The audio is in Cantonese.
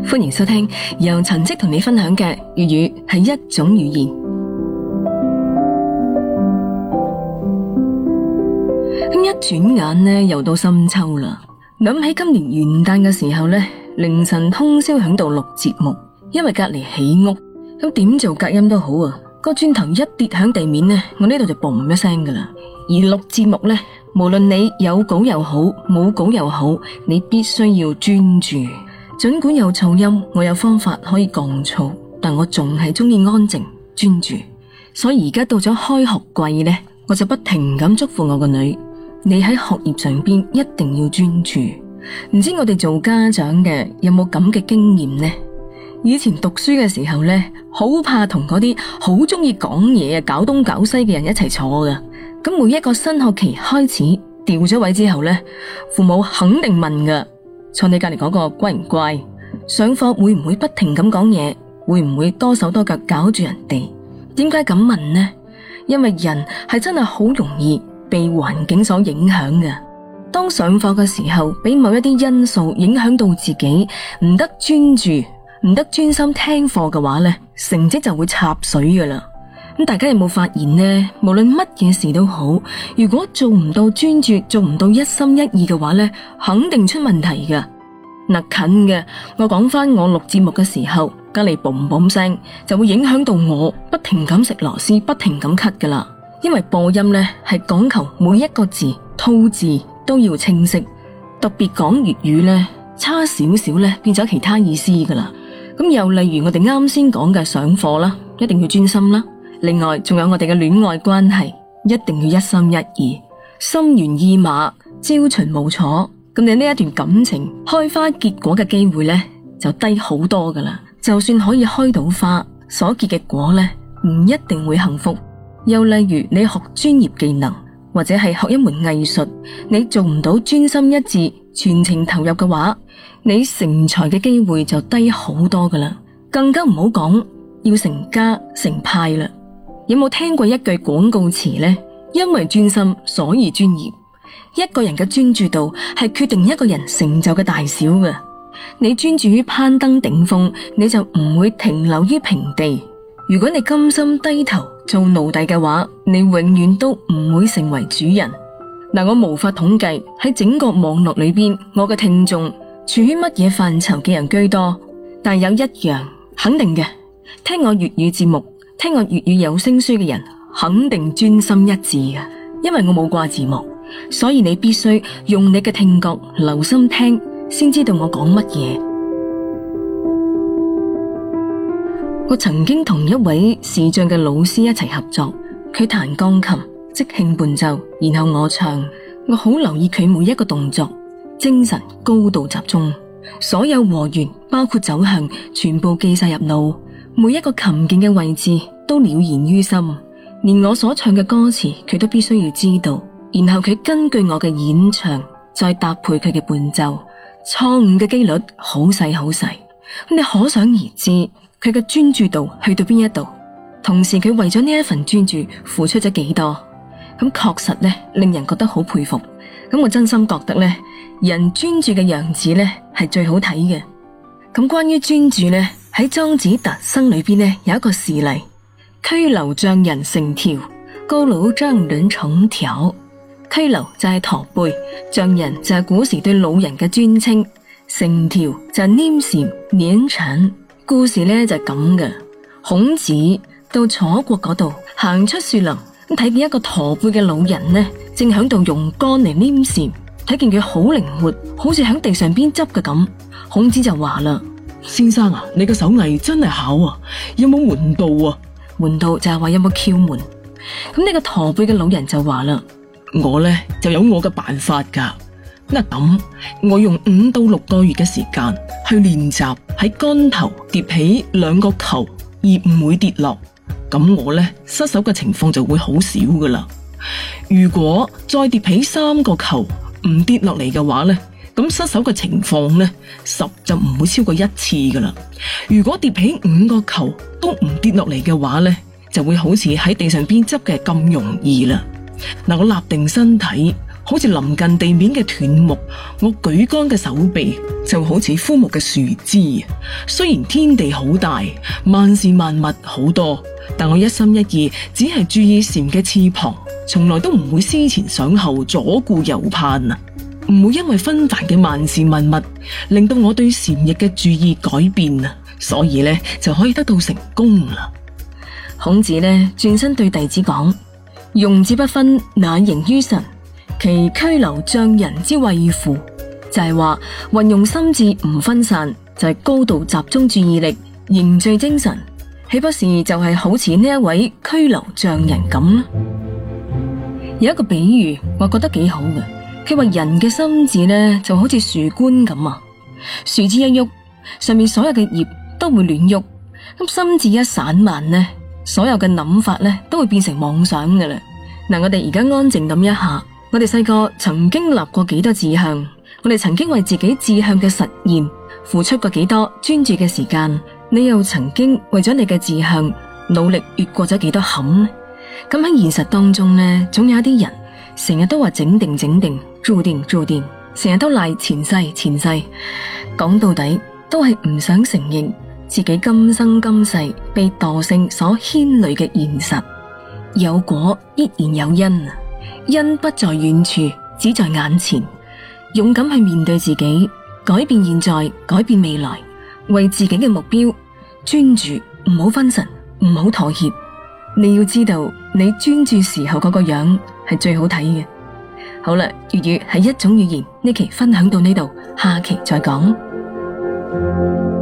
歡迎收聽由陳迹同你分享嘅粵語係一種語言。一轉眼呢，又到深秋啦。諗起今年元旦嘅時候呢，凌晨通宵響度錄節目，因為隔籬起屋，咁點做隔音都好啊。個磚頭一跌響地面呢，我呢度就嘣一聲噶啦。而錄節目呢，無論你有稿又好，冇稿又好，你必須要專注。盡管有噪音，我有方法可以降噪，但我仲係中意安靜專注。所以而家到咗開學季呢，我就不停咁囑咐我個女，你喺學業上邊一定要專注。唔知我哋做家長嘅有冇咁嘅經驗呢？以前讀書嘅時候呢，好怕同嗰啲好中意講嘢搞東搞西嘅人一齊坐噶。咁每一個新學期開始調咗位之後呢，父母肯定問噶，坐你隔籬嗰個乖唔乖？上課會唔會不停咁講嘢？會唔會多手多腳搞住人哋？點解咁問呢？因為人係真係好容易被環境所影響嘅。當上課嘅時候，俾某一啲因素影響到自己，唔得專注，唔得專心聽課嘅話呢，成績就會插水噶啦。咁大家有冇發現呢？無論乜嘢事都好，如果做唔到專注，做唔到一心一意嘅話呢，肯定出問題噶。嗱，近嘅，我講翻我錄節目嘅時候，隔籬嘣嘣聲就會影響到我不停咁食螺絲，不停咁咳噶啦。因為播音呢係講求每一個字吐字都要清晰，特別講粵語呢，差少少呢變咗其他意思噶啦。咁又例如我哋啱先講嘅上課啦，一定要專心啦。另外仲有我哋嘅戀愛關係，一定要一心一意，心猿意馬，朝秦暮楚。咁你呢一段感情開花結果嘅機會呢，就低好多噶啦。就算可以開到花，所結嘅果呢，唔一定會幸福。又例如你學專業技能，或者係學一門藝術，你做唔到專心一致、全情投入嘅話，你成才嘅機會就低好多噶啦。更加唔好講要成家成派啦。有冇聽過一句廣告詞呢？因為專心，所以專業。一個人嘅專注度係決定一個人成就嘅大小嘅。你專注於攀登頂峰，你就唔會停留於平地。如果你甘心低頭做奴隸嘅話，你永遠都唔會成為主人。嗱，我無法統計喺整個網絡裏邊，我嘅聽眾處於乜嘢範疇嘅人居多，但有一樣肯定嘅，聽我粵語節目，聽我粵語有聲書嘅人肯定專心一致嘅，因為我冇掛字幕，所以你必須用你嘅聽覺留心聽，先知道我講乜嘢。我曾經同一位視障嘅老師一齊合作，佢彈鋼琴，即興伴奏，然後我唱，我好留意佢每一個動作，精神高度集中，所有和弦包括走向全部記晒入腦，每一個琴鍵嘅位置都了然於心，連我所唱嘅歌詞佢都必須要知道，然後佢根據我嘅演唱再搭配佢嘅伴奏，錯誤嘅幾率好細好細，你可想而知佢嘅專注度去到邊一度，同時佢為咗呢一份專注付出咗幾多，咁確實呢令人覺得好佩服。咁我真心覺得呢，人專注嘅樣子呢係最好睇嘅。咁關於專注呢，喺莊子特生裏邊呢有一個事例，佝僂丈人成條，佝僂丈人成條。佝僂就係駝背，丈人就係古時對老人嘅尊稱，成條就係黏蟬黏蟬。故事呢就係咁嘅，孔子到楚國嗰度行出樹林，咁睇見一個駝背嘅老人呢，正響度用竿嚟黏蟬，睇見佢好靈活，好似響地上邊執嘅咁。孔子就話啦：先生啊，你嘅手藝真係巧啊，有冇門道啊？門道就係話有冇竅門。咁呢個駝背嘅老人就話啦：我呢就有我嘅辦法噶。咁我用5到6個月嘅時間去練習喺竿頭疊起2個球而唔會跌落，咁我呢失手嘅情況就會好少噶啦。如果再疊起3個球唔跌落嚟嘅話呢，咁失手嘅情況呢10就唔會超過1次噶啦。如果疊起5個球都唔跌落嚟嘅話呢，就會好似喺地上邊執嘅咁容易啦。我立定身體， 好似臨近地面嘅斷木，我舉竿嘅手臂就好似枯木嘅樹枝。雖然天地好大，萬事萬物好多，但我一心一意只係注意禪嘅翅膀，從來都唔會思前想後，左顧右盼啊！唔會因為紛繁嘅萬事萬物令到我對禪意嘅注意改變啊！所以呢，就可以得到成功啦。 孔子呢轉身對弟子講：用之不分，乃形於神，其拘留匠人之謂乎？就係話運用心智唔分散，就係高度集中注意力，凝聚精神，豈不是就係好似呢一位拘留匠人咁？有一個比喻我覺得幾好嘅，佢話人嘅心智呢就好似樹冠咁啊，樹枝一喐，上面所有嘅葉都會亂喐，咁心智一散漫呢，所有嘅諗法呢都會變成妄想嘅啦。嗱，我哋而家安靜諗一下，我哋細個曾經立過幾多志向，我哋曾經為自己志向嘅實現付出過幾多專注嘅時間，你又曾經為咗你嘅志向努力越過咗幾多坎呢？咁喺現實當中呢，總有一啲人成日都話整定注定，成日都賴前世，講到底都係唔想承認自己今生今世被惰性所牽累嘅現實。有果必然有因，因不在遠處，只在眼前。勇敢去面對自己，改變現在，改變未來，為自己嘅目標專注，唔好分神，唔好妥協。你要知道，你專注時候嗰個樣係最好睇嘅。好啦，粵語係一種語言，呢期分享到呢度，下期再講。